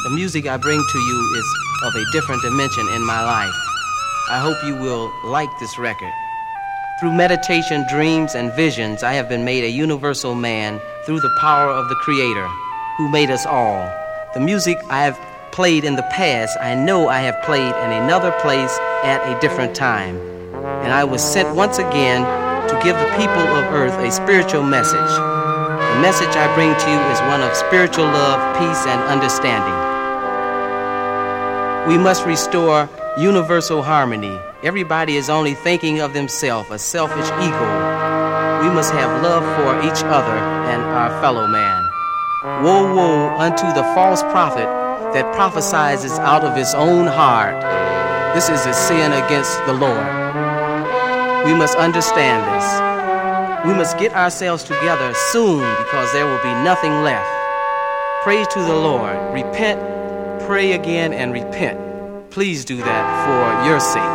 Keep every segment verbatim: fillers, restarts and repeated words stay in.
The music I bring to you is of a different dimension in my life. I hope you will like this record. Through meditation, dreams, and visions, I have been made a universal man through the power of the Creator, who made us all. The music I have played in the past, I know I have played in another place at a different time. And I was sent once again to give the people of earth a spiritual message. The message I bring to you is one of spiritual love, peace, and understanding. We must restore universal harmony. Everybody is only thinking of themselves, a selfish ego. We must have love for each other and our fellow man. Woe, woe unto the false prophet that prophesies out of his own heart. This is a sin against the Lord. We must understand this. We must get ourselves together soon because there will be nothing left. Pray to the Lord. Repent, pray again, and repent. Please do that for your sake.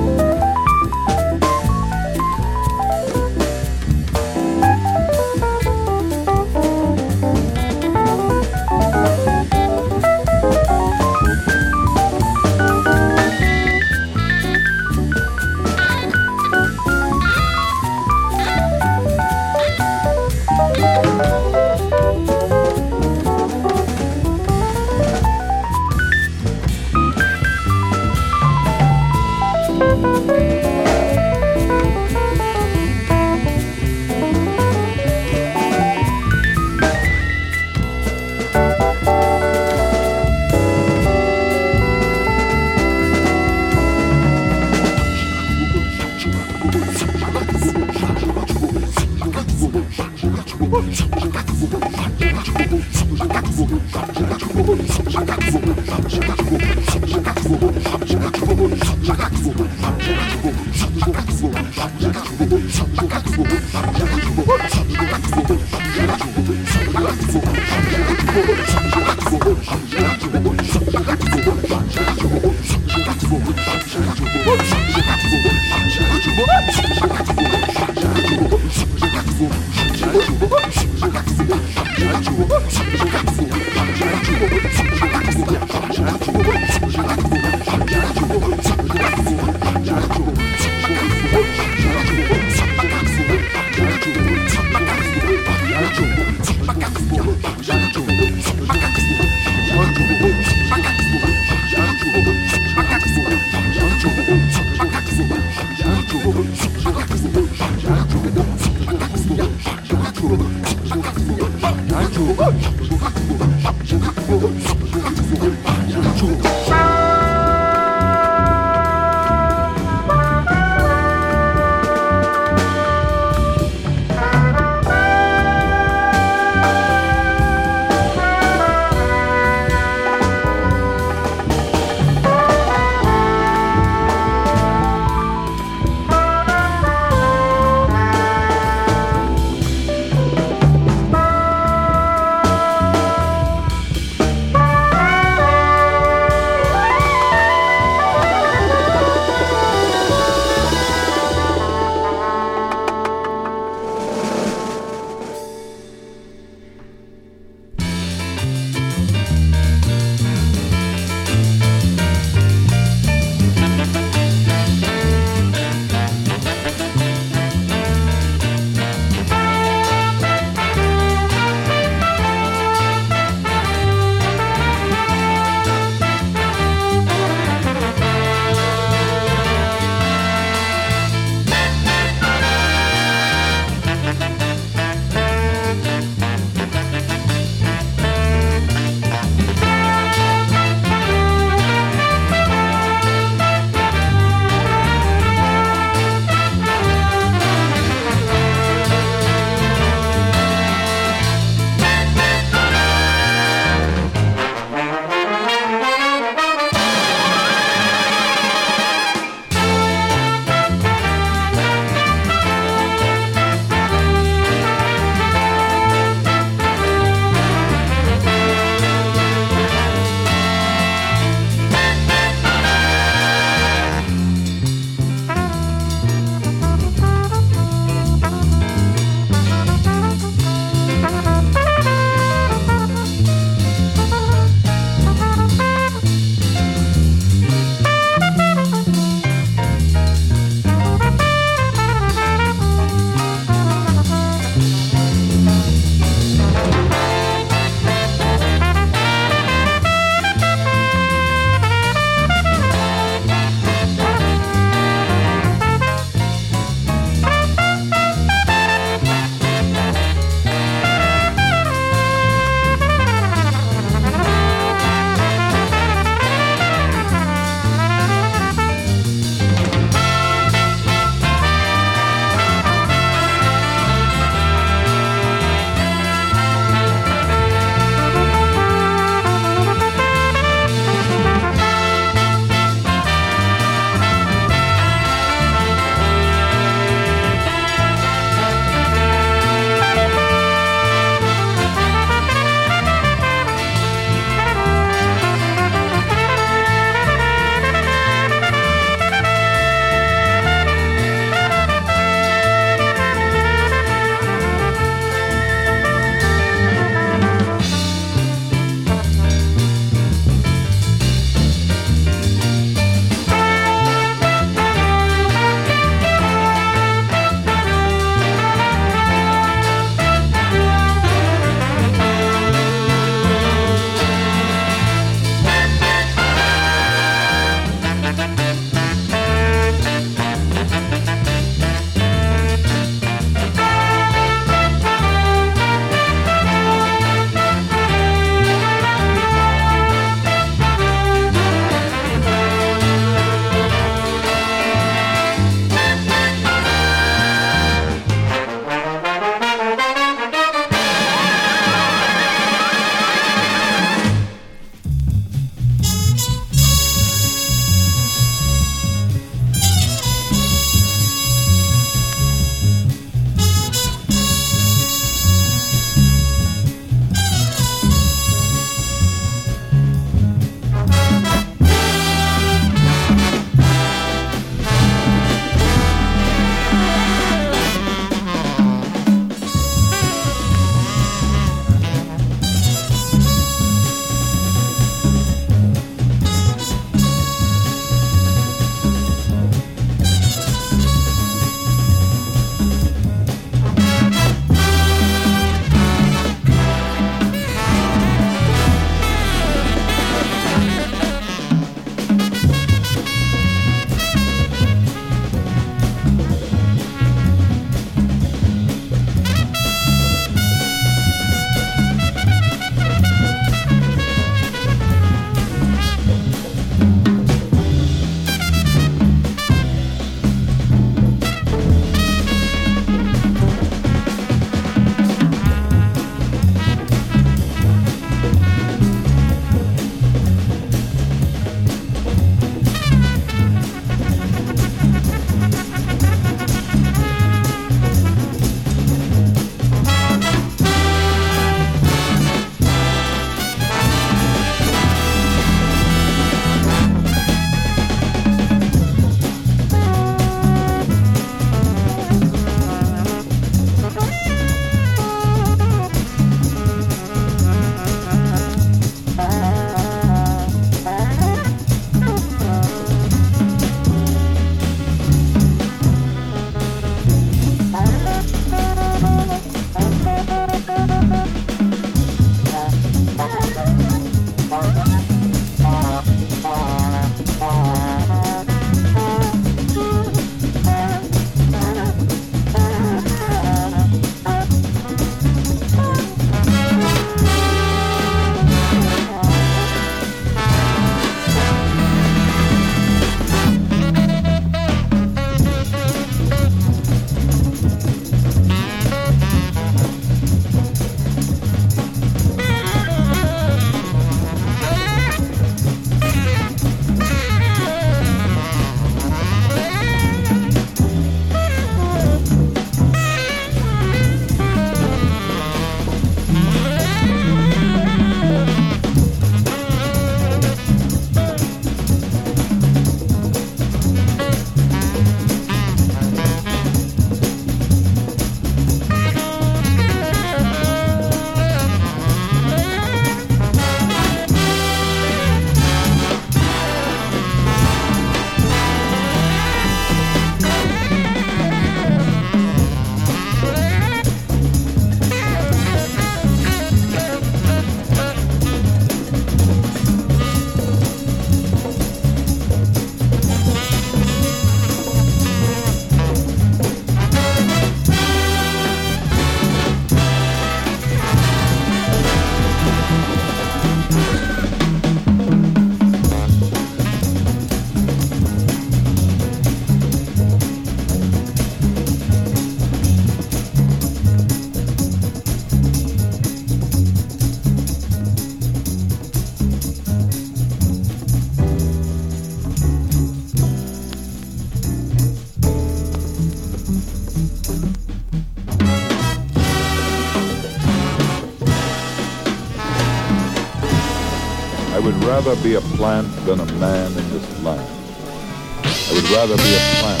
rather be a plant than a man in this land. I would rather be a plant.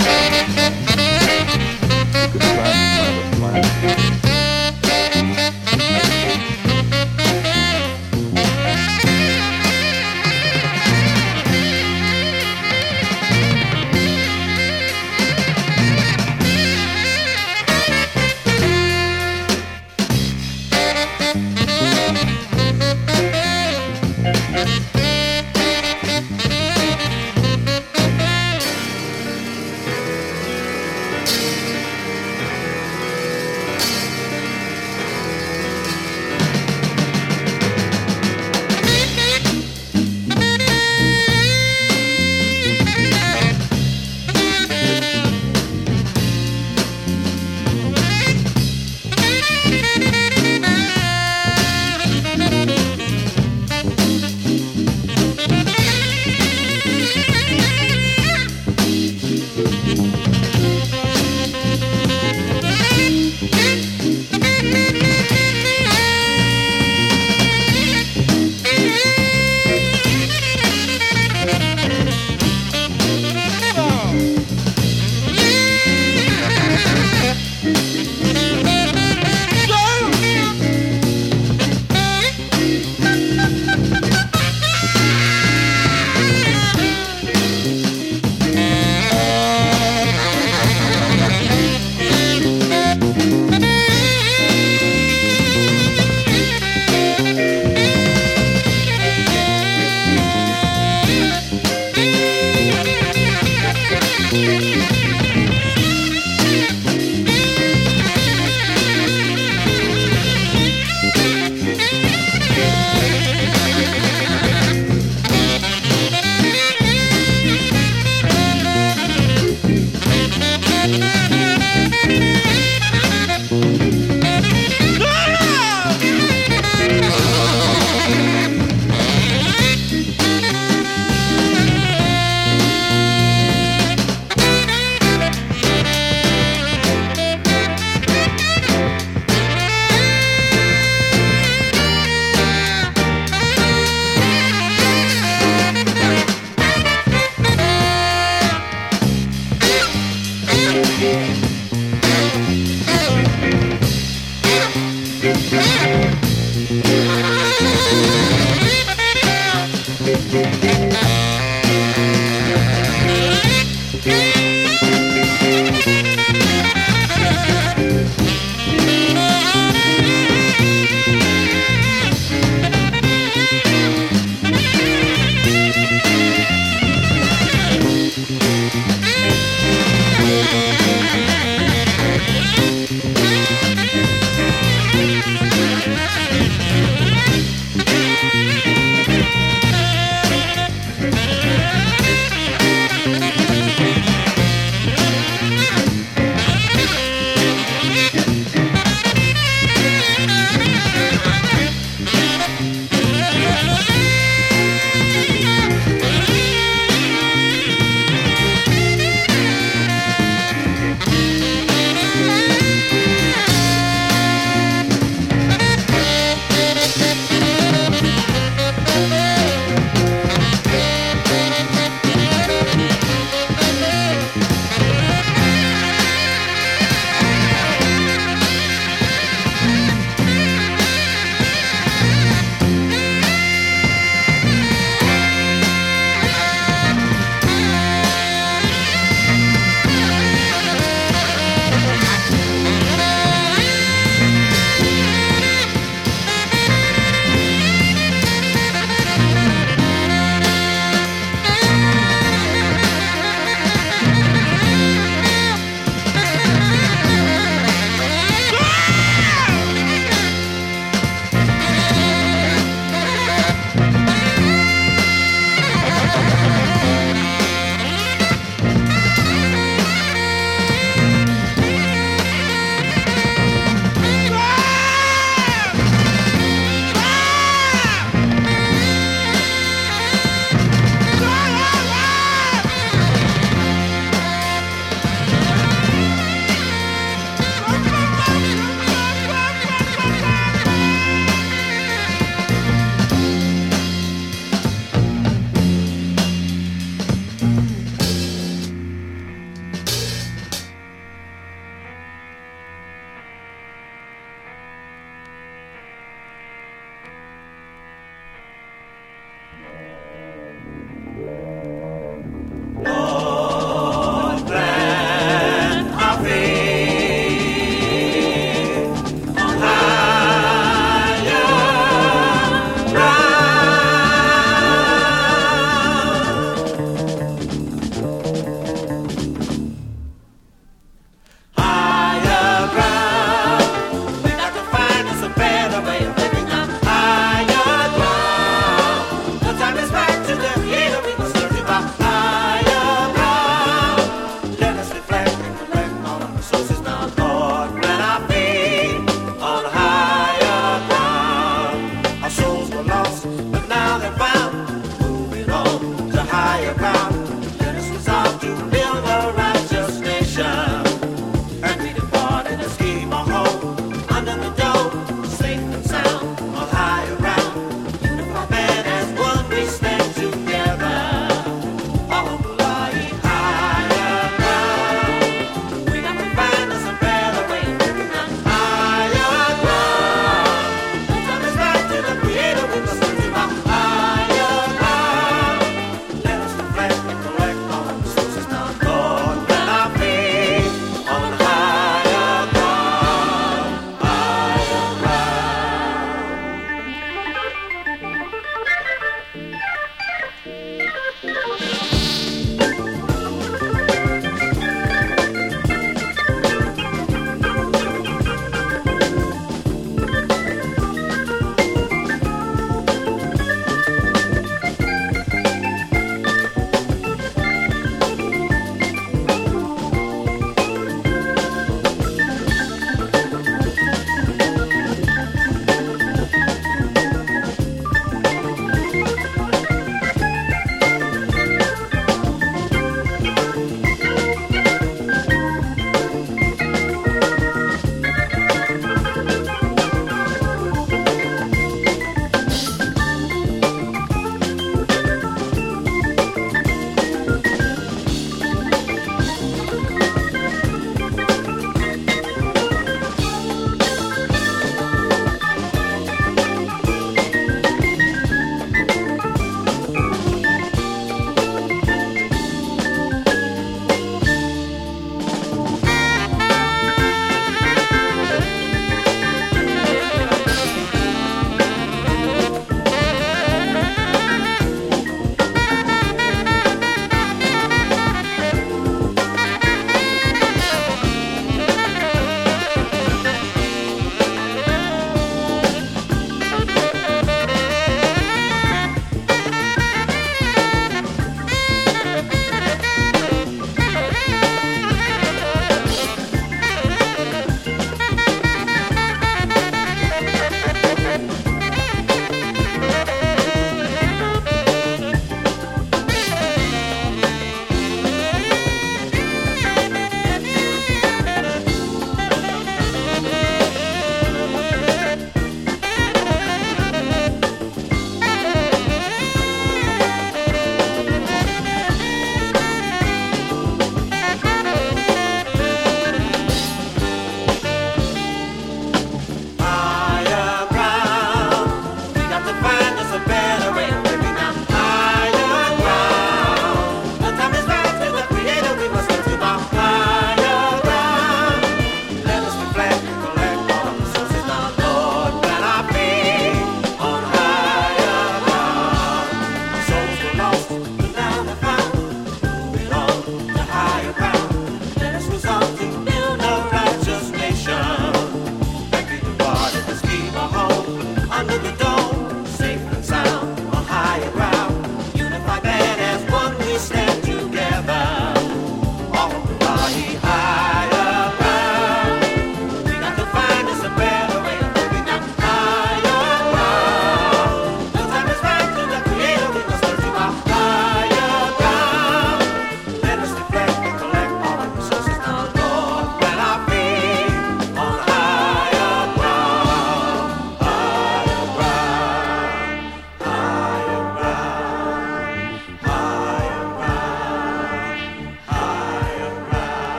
You could transplant a plant.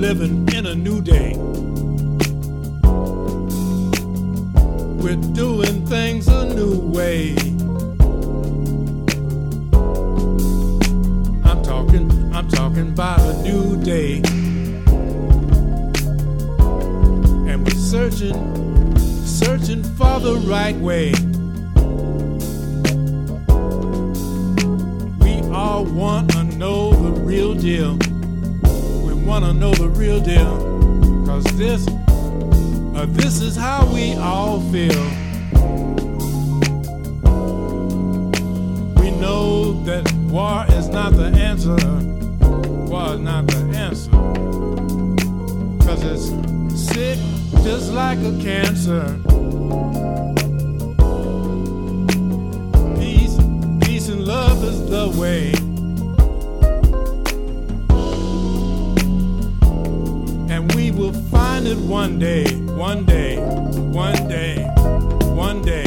living in a new day. We're doing things a new way. I'm talking, I'm talking about a new day. And we're searching, searching for the right way. We all want to know the real deal. We want to know the real deal. Cause this, uh, this is how we all feel. We know that war is not the answer. War is not the answer. Cause it's sick just like a cancer. Peace, peace and love is the way. And we will find it one day, one day, one day, one day.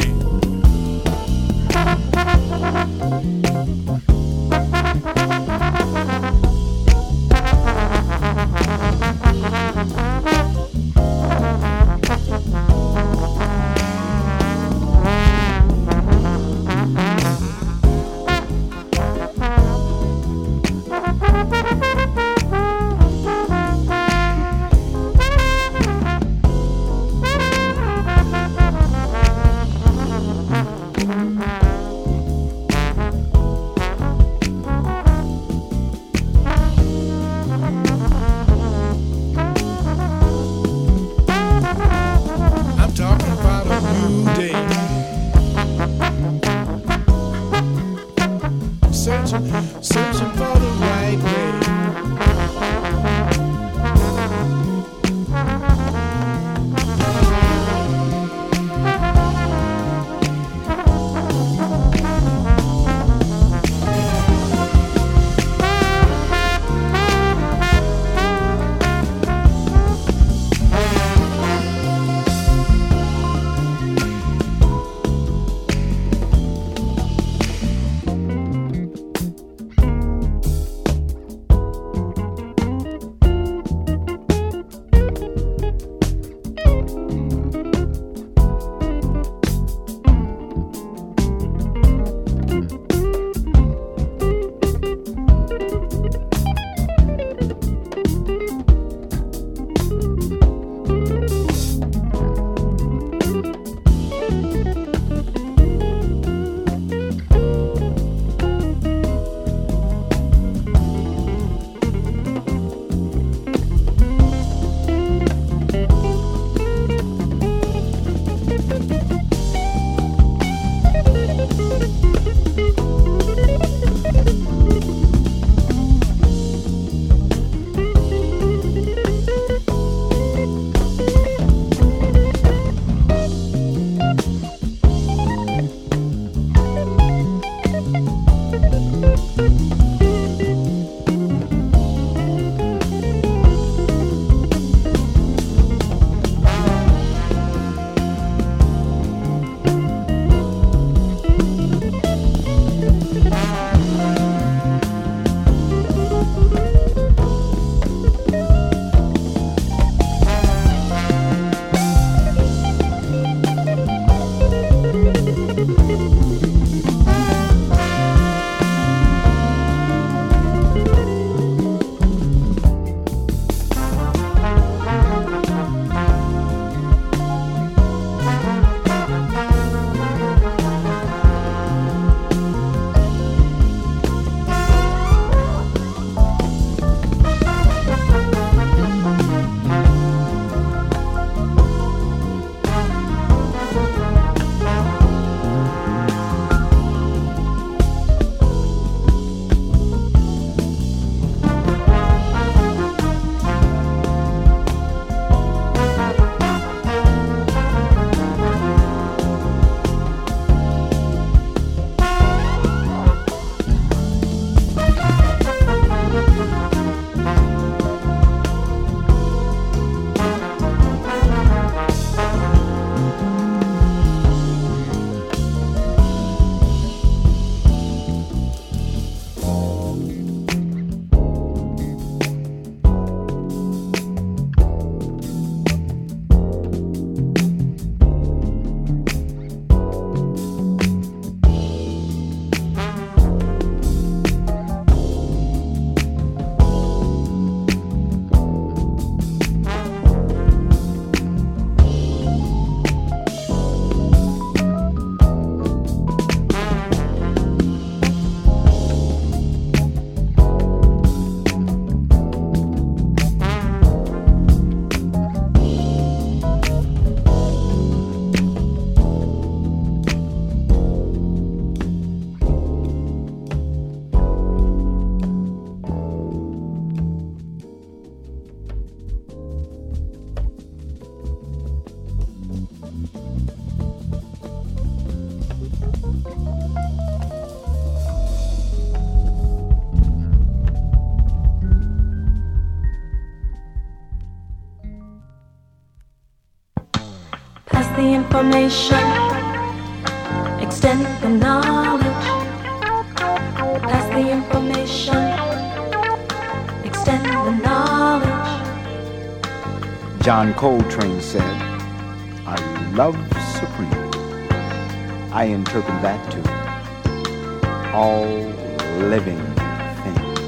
the information, extend the knowledge. Pass the information, extend the knowledge. John Coltrane said, "I love supreme." I interpret that to all living things.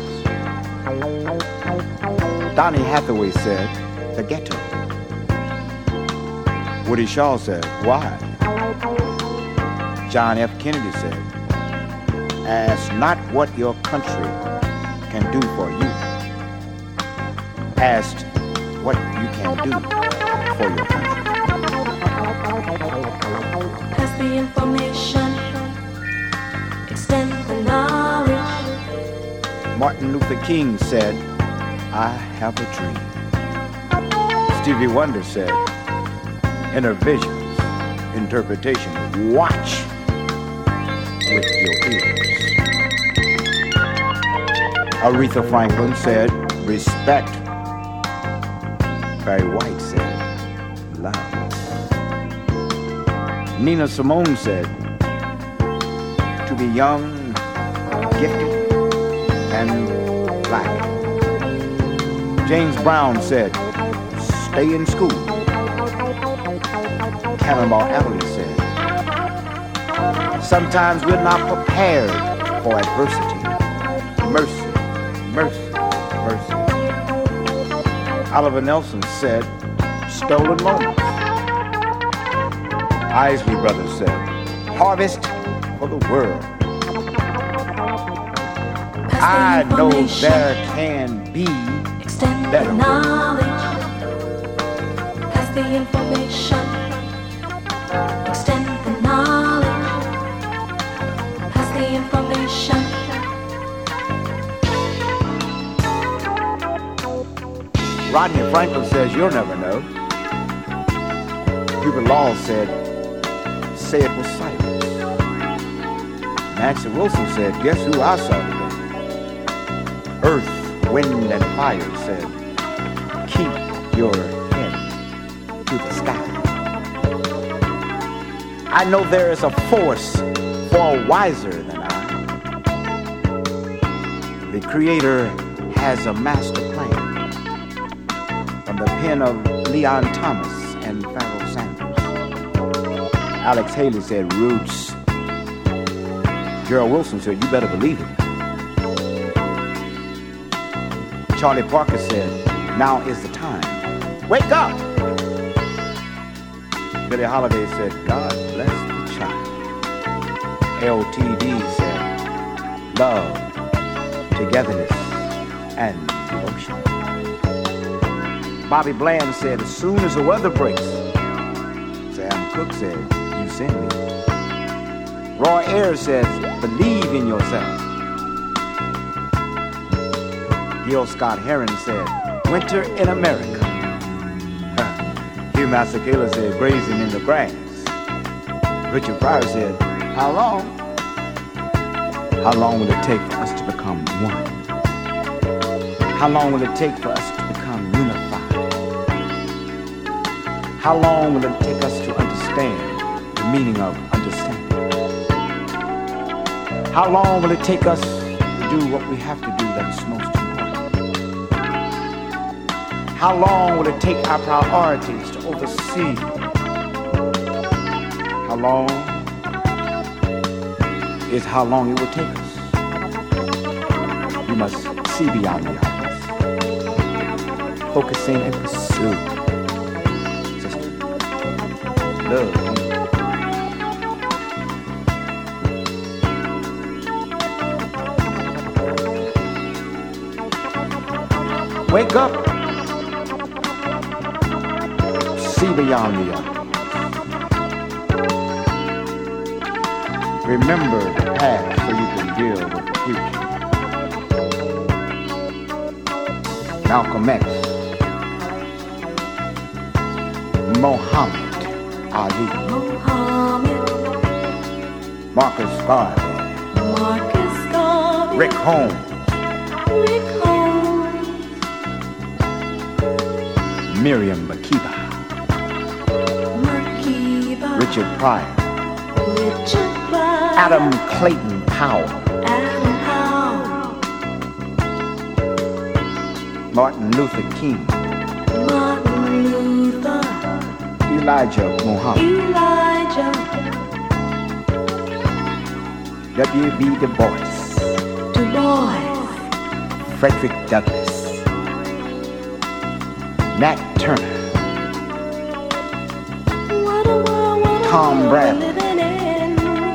Donny Hathaway said, "The ghetto." Woody Shaw said, "Why?" John F. Kennedy said, "Ask not what your country can do for you. Ask what you can do for your country." Pass the information, extend the knowledge. Martin Luther King said, "I have a dream." Stevie Wonder said, "Inner visions, interpretation, watch with your ears." Aretha Franklin said, "Respect." Barry White said, "Love." Nina Simone said, "To be young, gifted, and black." James Brown said, "Stay in school." Cannonball Adderley said, "Sometimes we're not prepared for adversity. Mercy, mercy, mercy." Oliver Nelson said, "Stolen moments." Isley Brothers said, "Harvest for the world." I know there can be better knowledge. Pass the information, extend the knowledge. Pass the information. Rodney Franklin says, "You'll never know." Hubert Law said, "Say it with silence." Nancy Wilson said, "Guess who I saw today?" Earth, Wind, and Fire said, "Keep your head to the sky." I know there is a force far wiser than I. The Creator has a master plan. From the pen of Leon Thomas and Pharoah Sanders. Alex Haley said, "Roots." Gerald Wilson said, "You better believe it." Charlie Parker said, "Now is the time. Wake up!" Billie Holiday said, "God bless the child." L T D said, "Love, togetherness, and devotion." Bobby Bland said, "As soon as the weather breaks." Sam Cooke said, "You send me." Roy Ayers says, "Believe in yourself." Gil Scott Heron said, "Winter in America." Hugh Masekela said, "Grazing in the grass." Richard Pryor said, "How long?" How long will it take for us to become one? How long will it take for us to become unified? How long will it take us to understand the meaning of understanding? How long will it take us to do what we have to do that is most important? How long will it take our priorities to oversee? How long is how long it will take us? We must see beyond the obvious. Focusing and pursue. Sister, love. Wake up. See beyond the obvious. Remember the past so you can deal with the future. Malcolm X, Muhammad Ali, Muhammad, Marcus Garvey, Marcus Garvey, Rick Holmes, Rick Holmes, Miriam Makeba, Makeba, Richard Pryor, Richard Pryor, Adam Clayton Powell, Adam Powell, Martin Luther King, Martin Luther, Elijah Muhammad, Elijah, W B Du Bois, Du Bois, Frederick Douglass, Nat Turner, what a world, what a Tom world Bradley, we're living in.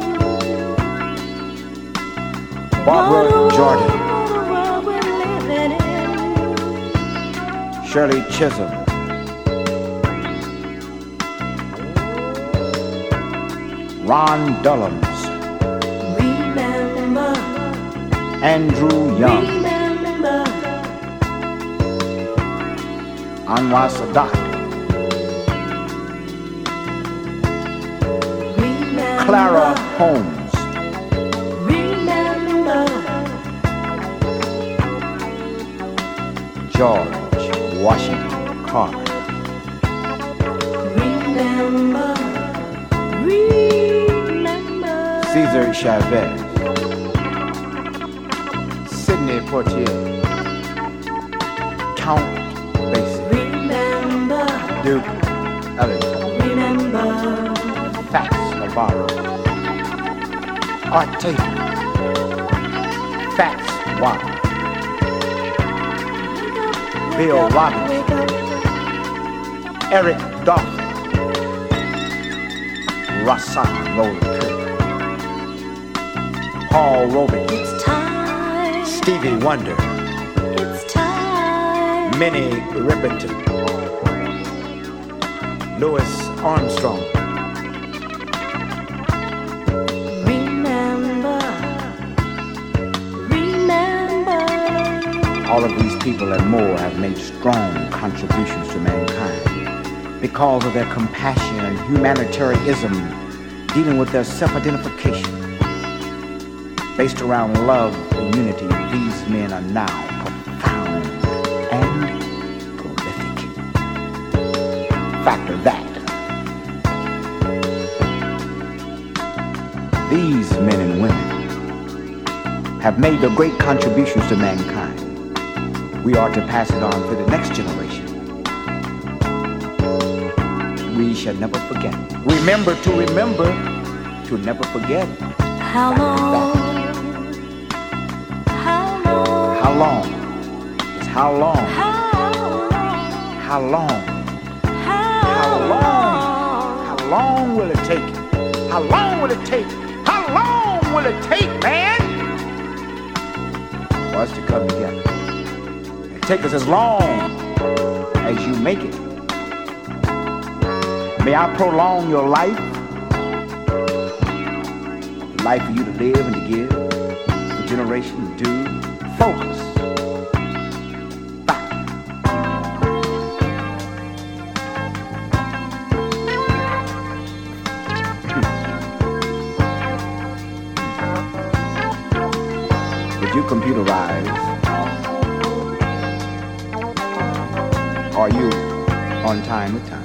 Barbara What a world, Jordan, what a world we're living in. Shirley Chisholm, Ron Dellums, Remember, Andrew Young, remember, Anwar Sadat, remember, Clara Holmes, remember, George Washington Carver, remember, remember, Cesar Chavez, Sidney Poitier, Count Basie, remember, Duke Ellington, remember, Fats Navarro, Art Taylor, Fats Watt, Bill Robbins, wake up, Eric Dolphin, Rassan Roller Kirk, Paul Robeson, it's time, Stevie Wonder, it's time, Minnie Riperton, Louis Armstrong, remember, remember, all of these people and more have made strong contributions to mankind because of their compassion and humanitarianism dealing with their self-identification. Based around love and unity, these men are now profound and prolific. Factor that. These men and women have made the great contributions to mankind. We are to pass it on to the next generation. We shall never forget. Remember to remember to never forget. how long, how long, How long? It's how long? how long, How long? how How long? long, How long will it take? How long will it take? How long will it take, man? For us to come together. It take us as long as you make it. May I prolong your life, the life for you to live and to give, the generation to do. Focus. Back. Would you computerize? Are you on time with time?